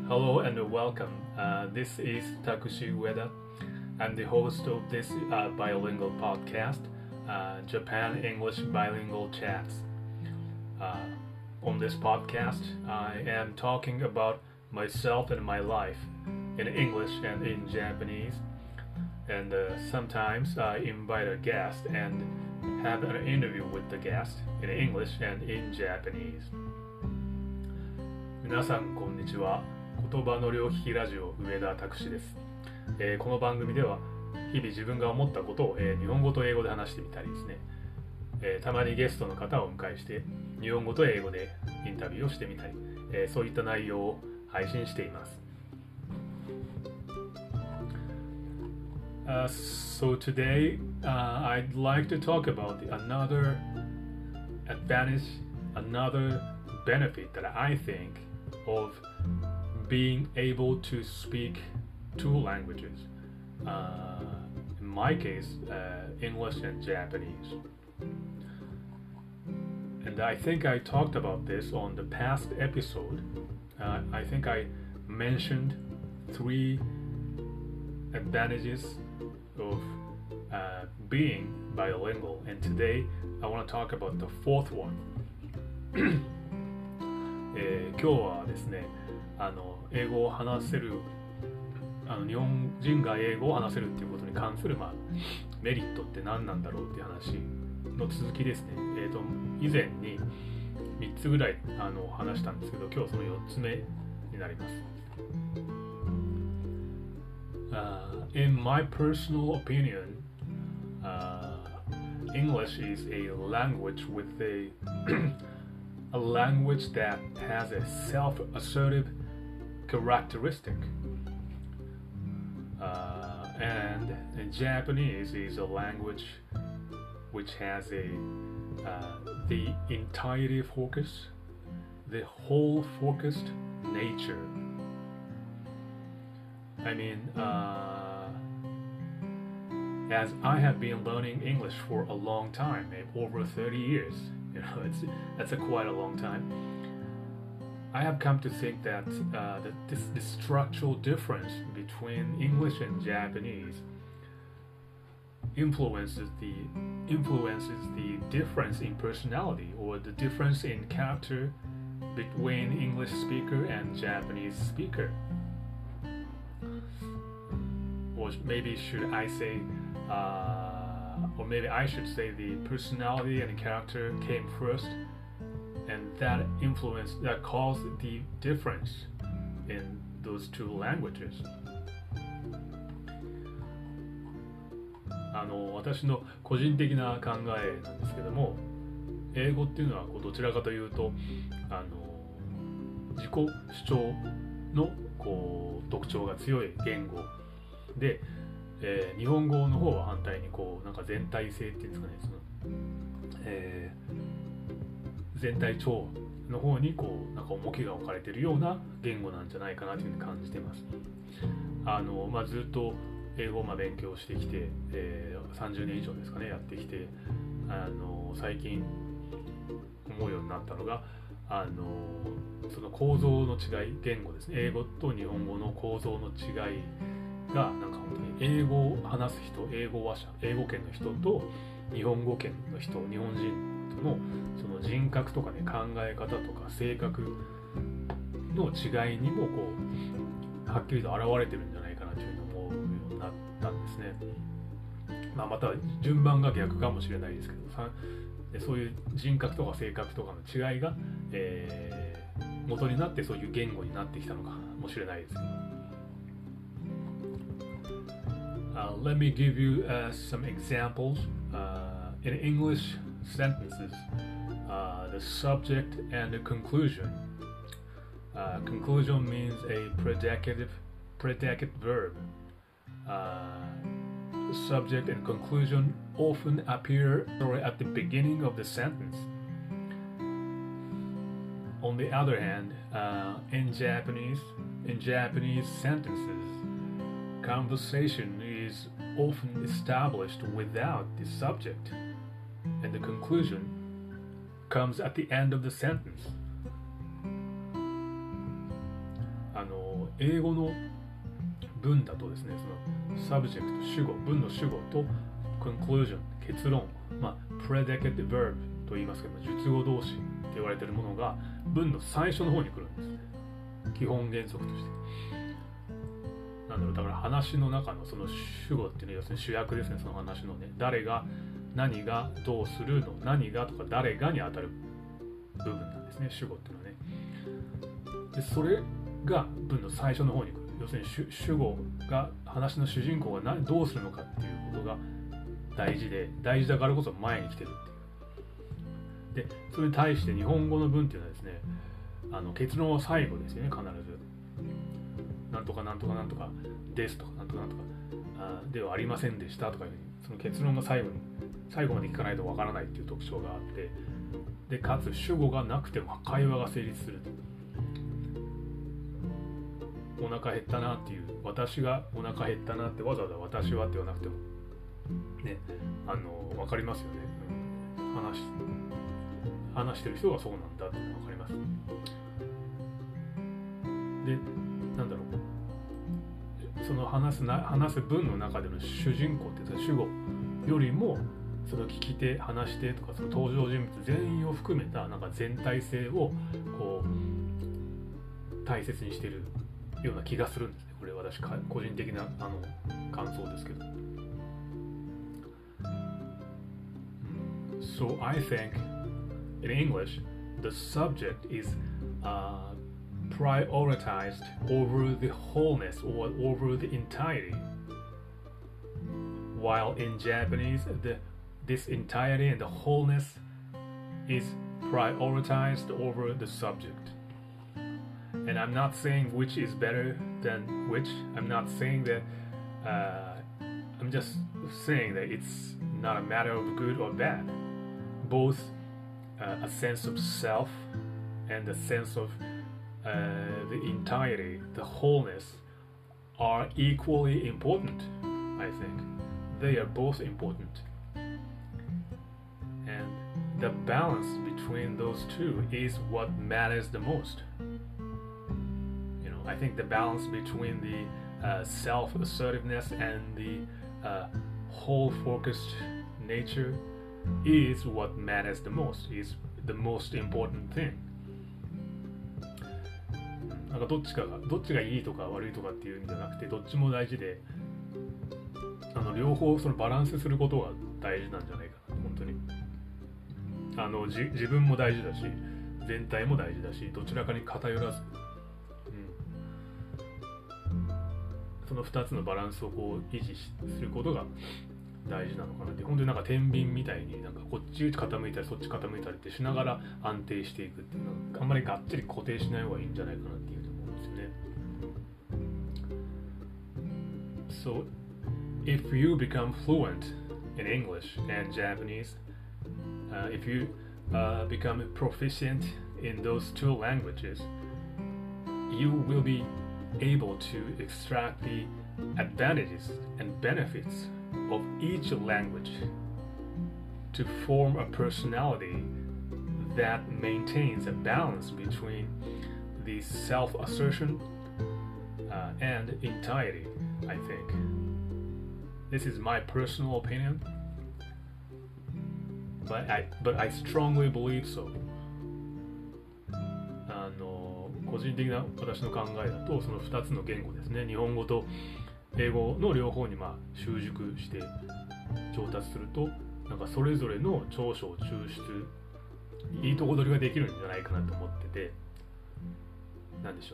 Hello and welcome. This is Takushi Ueda. I'm the host of this bilingual podcast, Japan English Bilingual Chats. On this podcast, I am talking about myself and my life in English and in Japanese. And sometimes I invite a guest and have an interview with the guest in English and in Japanese. 皆さんこんにちは。言葉の両利きラジオ上田拓司です。この番組では日々自分が思ったことを、日本語と英語で話してみたりですね、たまにゲストの方をお迎えして日本語と英語でインタビューをしてみたり、そういった内容を配信しています。So today, I'd like to talk about another advantage, another benefit that I think of being able to speak two languages. In my case, English and Japanese. And I think I talked about this on the past episode. I think I mentioned 3 advantages of being bilingual, and today I want to talk about the 4th one. 今日はですね、英語を話せる日本人が英語を話せるっていうことに関する、メリットって何なんだろうっていう話の続きですね。以前に3つぐらい話したんですけど、今日その4つ目になります。In my personal opinion, English is a language with a language that has a self-assertive characteristic. And Japanese is a language which has the entirety focus, the whole focused nature. I mean, as I have been learning English for a long time, over 30 years, that's quite a long time. I have come to think that this structural difference between English and Japanese influences the difference in personality or the difference in character between English speaker and Japanese speaker. Or maybe should I say, or maybe I should say the personality and character came first, and that caused the difference in those 2 languages. 私の個人的な考えなんですけども、英語っていうのはどちらかというと自己主張の特徴が強い言語で、日本語の方は反対になんか全体性っていうんですかね、全体調の方になんか重きが置かれているような言語なんじゃないかなというふうに感じています。ずっと英語を勉強してきて、30年以上ですかねやってきて、最近思うようになったのがその構造の違い、言語ですね、英語と日本語の構造の違いがなんか本当に英語を話す人、英語話者、英語圏の人と日本語圏の人、日本人とのその人格とかね、考え方とか性格の違いにもはっきりと現れてるんじゃないかなというふうに思うようになったんですね。また順番が逆かもしれないですけど、そういう人格とか性格とかの違いが、元になってそういう言語になってきたのかもしれないですけど。Let me give you some examples. In English sentences, the subject and the conclusion. Conclusion means a predicate verb. The subject and conclusion often appear at the beginning of the sentence. On the other hand, in Japanese sentences, conversation is often established without the subject, and the conclusion comes at the end of the sentence. 英語の文だとですね、その subject 主語、文の主語と conclusion 結論、predicate verb と言いますけど、述語動詞って言われているものが文の最初の方に来るんですね。基本原則として。だから話の中のその主語っていうのは要するに主役ですね。その話のね、誰が何がどうするの、何がとか誰がに当たる部分なんですね、主語っていうのはね。でそれが文の最初の方に来る。要するに主語が、話の主人公がどうするのかっていうことが大事で、大事だからこそ前に来てるっていう。でそれに対して日本語の文っていうのはですね、結論は最後ですよね。必ずなんとかなんとかなんとかですとかなんとかなんとかではありませんでしたとかいう、その結論が最後まで聞かないとわからないっていう特徴があって、でかつ主語がなくても会話が成立すると。お腹減ったなっていう、私がお腹減ったなってわざわざ私はって言わなくてもね、わかりますよね。話してる人がそうなんだってわかります。で、なんだろう、その話す文の中での主人公って主語よりも、その聞き手、話し手とかその登場人物全員を含めたなんか全体性をこう大切にしているような気がするんですね。これ私個人的な感想ですけど。So I think in English the subject is prioritized over the wholeness or over the entirety, while in Japanese this entirety and the wholeness is prioritized over the subject. And I'm not saying which is better than which. I'm not saying that I'm just saying that it's not a matter of good or bad. Both a sense of self and a sense of the entirety, the wholeness, are equally important. I think they are both important, and the balance between those two is what matters the most. I think the balance between the self-assertiveness and the whole-focused nature is what matters the most, is the most important thing. なんかどっちがいいとか悪いとかっていうんじゃなくて、どっちも大事で、両方そのバランスすることが大事なんじゃないかな、本当に。自分も大事だし、全体も大事だし、どちらかに偏らず、その2つのバランスをこう維持することが大事なのかなって。本当になんか天秤みたいになんかこっち傾いたりそっち傾いたりってしながら安定していくっていうのは、あんまりがっつり固定しない方がいいんじゃないかなっていうふうに思うんですよね。So if you become fluent in English and Japanese, if you become proficient in those two languages, you will be able to extract the advantages and benefits of each language to form a personality that maintains a balance between the self-assertion and entirety, I think. This is my personal opinion, but I strongly believe so. 個人的な私の考えだと、その2つの言語ですね、日本語と英語の両方に習熟して上達すると、なんかそれぞれの長所を抽出、いいとこ取りができるんじゃないかなと思ってて、なんでしょ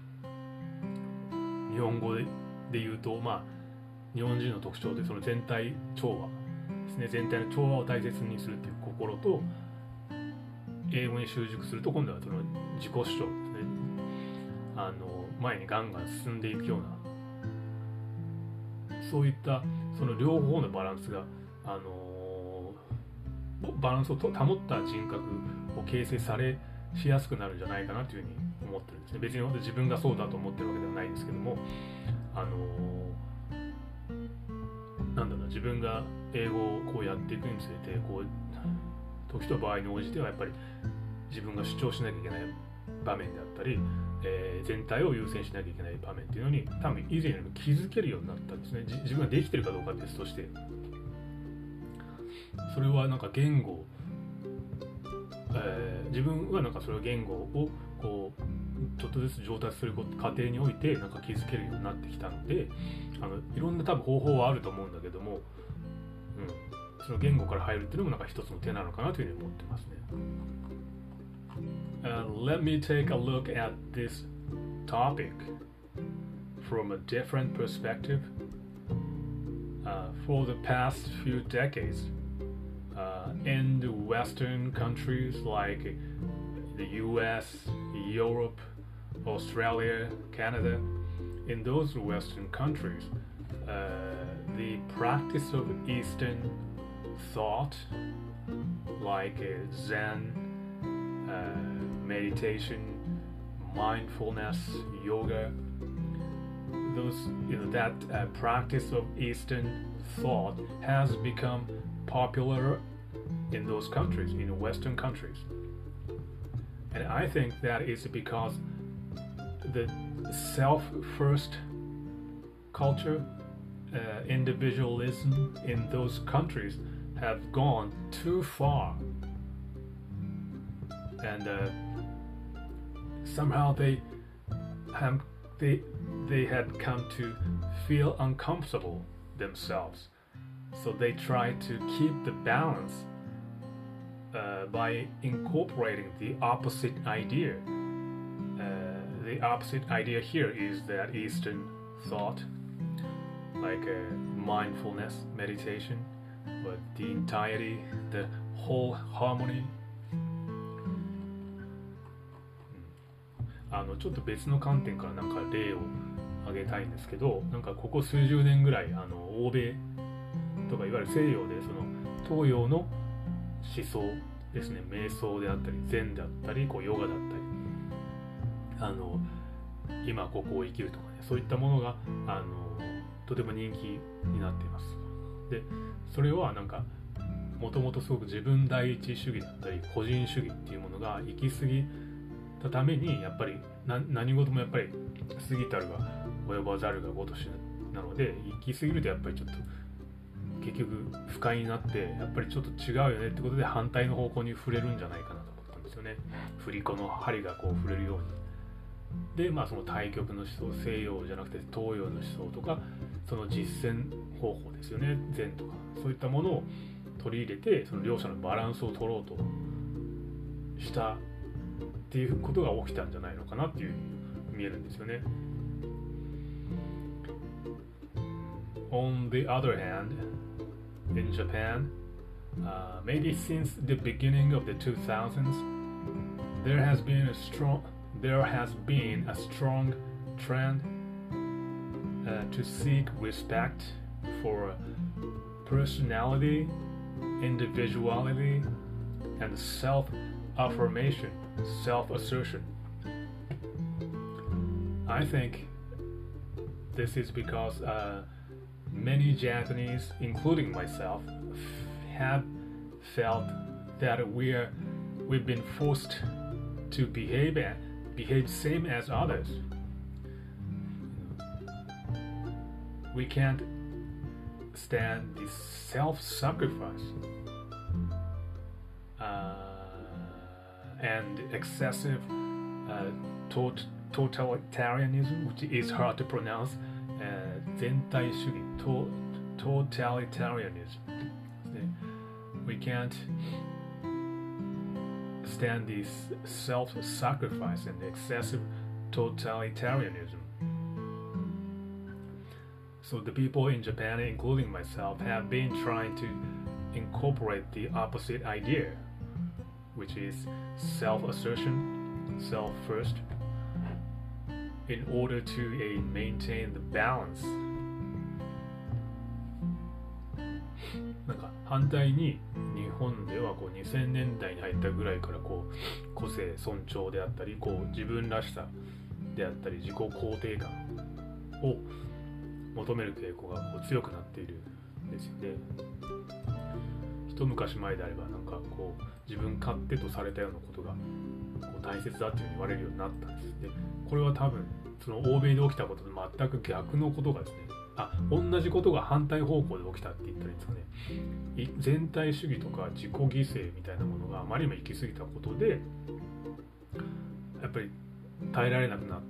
う、日本語で言うと、日本人の特徴でその全体調和ですね、全体の調和を大切にするっていう心と、英語に習熟すると今度はその自己主張ですね、前にガンガン進んでいくような、そういったその両方のバランスが、バランスを保った人格を形成しやすくなるんじゃないかなというふうに思ってるんですね。別に自分がそうだと思ってるわけではないんですけども、なんだろうな、自分が英語をこうやっていくにつれて、こう時と場合に応じてはやっぱり自分が主張しなきゃいけない場面であったり、 全体を優先しなきゃいけない場面っていうのに多分以前よりも気づけるようになったんですね。自分ができてるかどうかは別として、それはなんか言語、自分はなんかそれは言語をこうちょっとずつ上達する過程においてなんか気づけるようになってきたので、いろんな多分方法はあると思うんだけども、その言語から入るっていうのもなんか一つの手なのかなというふうに思ってますね。Let me take a look at this topic from a different perspective. For the past few decades, in the Western countries like the US, Europe, Australia, Canada, in those Western countries, the practice of Eastern thought, like Zen, meditation, mindfulness, yoga, that practice of Eastern thought has become popular in those countries, in Western countries. And I think that is because the self-first culture, individualism in those countries have gone too far. And somehow they had come to feel uncomfortable themselves, so they try to keep the balance by incorporating the opposite idea. The opposite idea here is that Eastern thought, like mindfulness, meditation, but the entirety, the whole harmony.ちょっと別の観点からなんか例を挙げたいんですけど、なんかここ数十年ぐらい欧米とかいわゆる西洋でその東洋の思想ですね、瞑想であったり禅であったりヨガだったり今ここを生きるとかね、そういったものがとても人気になっています。でそれはなんかもともとすごく自分第一主義だったり個人主義っていうものが行き過ぎたために、やっぱり何事もやっぱり過ぎたるが及ばざるが如しなので、行き過ぎるとやっぱりちょっと結局不快になってやっぱりちょっと違うよねってことで反対の方向に触れるんじゃないかなと思ったんですよね。振り子の針がこう触れるように。でその対極の思想、西洋じゃなくて東洋の思想とかその実践方法ですよね、禅とかそういったものを取り入れてその両者のバランスを取ろうとしたっていうことが起きたんじゃないのかなっていうふうに見えるんですよね。On the other hand, in Japan, maybe since the beginning of the 2000s, there has been a strong trend to seek respect for personality, individuality, and self-affirmation, self-assertion. I think this is because many Japanese, including myself, have felt that we've been forced to behave same as others. We can't stand the self-sacrifice and excessive totalitarianism, which is hard to pronounce, 全体主義 totalitarianism. We can't stand this self-sacrifice and excessive totalitarianism. So the people in Japan, including myself, have been trying to incorporate the opposite idea, which is self-assertion, self-first, in order to maintain the balance. なんか反対に日本では2000年代に入ったぐらいから個性尊重であったり自分らしさであったり自己肯定感を求める傾向が強くなっているんですよね。一一昔前であればなんかこう自分勝手とされたようなことがこう大切だっていうふうに言われるようになったんです。でこれは多分その欧米で起きたことと全く逆のことがですね、同じことが反対方向で起きたって言ったらいいんですかね。全体主義とか自己犠牲みたいなものがあまりにも行き過ぎたことでやっぱり耐えられなくなって、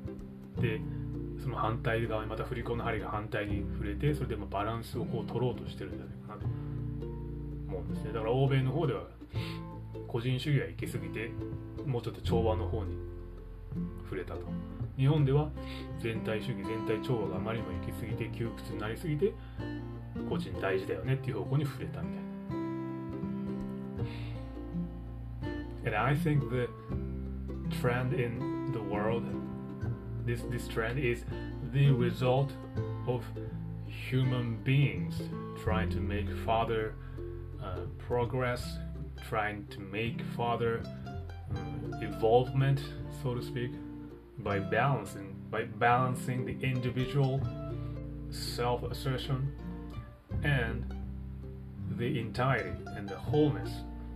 その反対側にまた振り子の針が反対に触れて、それでバランスをこう取ろうとしてるんじゃないかなと思うんですね。だから欧米の方では個人主義が行き過ぎてもうちょっと調和の方に触れたと。日本では全体主義全体調和があまりにも行き過ぎて窮屈になりすぎて個人大事だよねっていう方向に触れたみたいな。And I think the trend in the world, this trend is the result of human beings trying to make further progress, trying to make further evolvement, so to speak, by balancing the individual self-assertion and the entirety and the wholeness.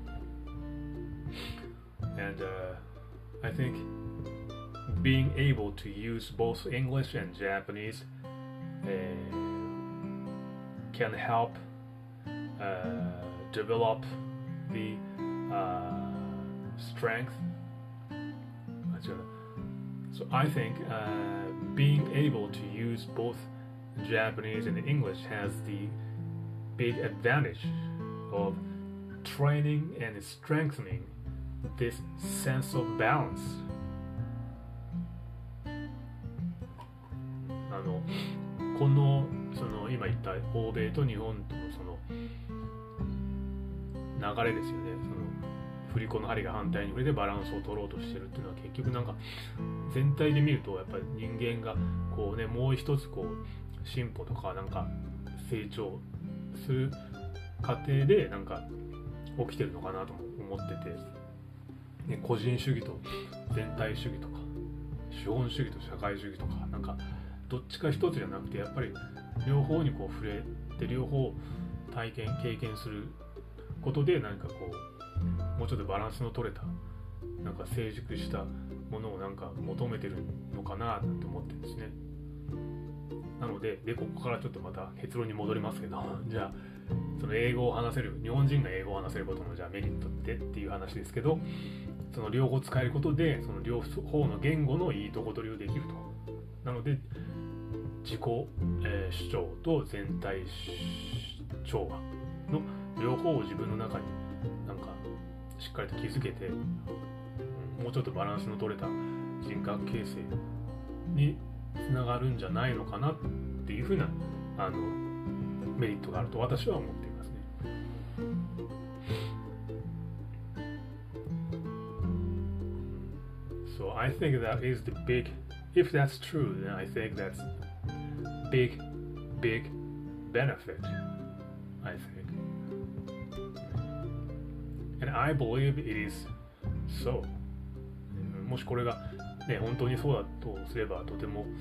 And I think being able to use both English and Japanese can help develop the strength. So I think being able to use both Japanese and English has the big advantage of training and strengthening this sense of balance. このその今言った欧米と日本とのその流れですよね。その振り子の針が反対に触れてバランスを取ろうとしてるっていうのは結局なんか全体で見るとやっぱり人間がこうねもう一つこう進歩とかなんか成長する過程でなんか起きてるのかなと思ってて、ね、個人主義と全体主義とか資本主義と社会主義とかなんかどっちか一つじゃなくてやっぱり両方にこう触れて両方経験することで何かこうもうちょっとバランスの取れたなんか成熟したものをなんか求めてるのかななんて思ってるんですね。なのでここからちょっとまた結論に戻りますけど、じゃあその英語を話せる日本人が英語を話せることのじゃあメリットっていう話ですけど、その両方使えることでその両方の言語のいいとこ取りをできると。なので自己、主張と全体調和の両方を自分の中になんかしっかりと築けて、もうちょっとバランスの取れた人格形成につながるんじゃないのかなっていうふうなメリットがあると私は思っていますね。So I think that is the big, if that's true, then I think that's big benefit, I think. And I believe it is so. もしこれがね本当にそうだとすればとても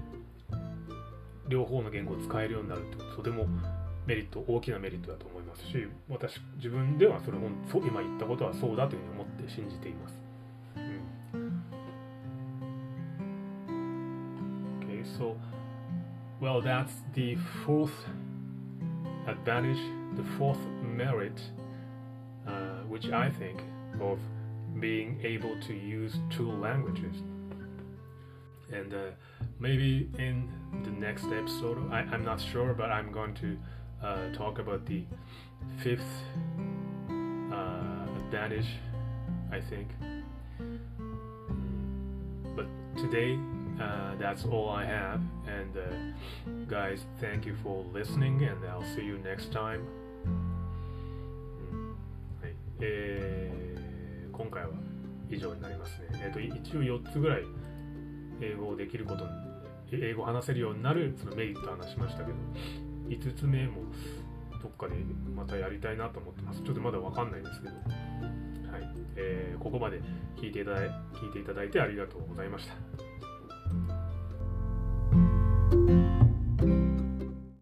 両方の言語を使えるようになるってとても大きなメリットだと思いますし、自分ではそれ今言ったことはそうだというふうに思って信じています。Okay, so well, that's the fourth advantage, the fourth merit, which I think of being able to use two languages. And maybe in the next episode, I'm not sure, but I'm going to talk about the fifth advantage, I think. But today, that's all I have. And guys, thank you for listening, and I'll see you next time. はい、今回は以上になりますね。一応4つぐらい英語をできることに、英語を話せるようになるそのメリットを話しましたけど、5つ目もどっかでまたやりたいなと思ってます。ちょっとまだわかんないですけど、はい、ここまで聞いていただいてありがとうございました。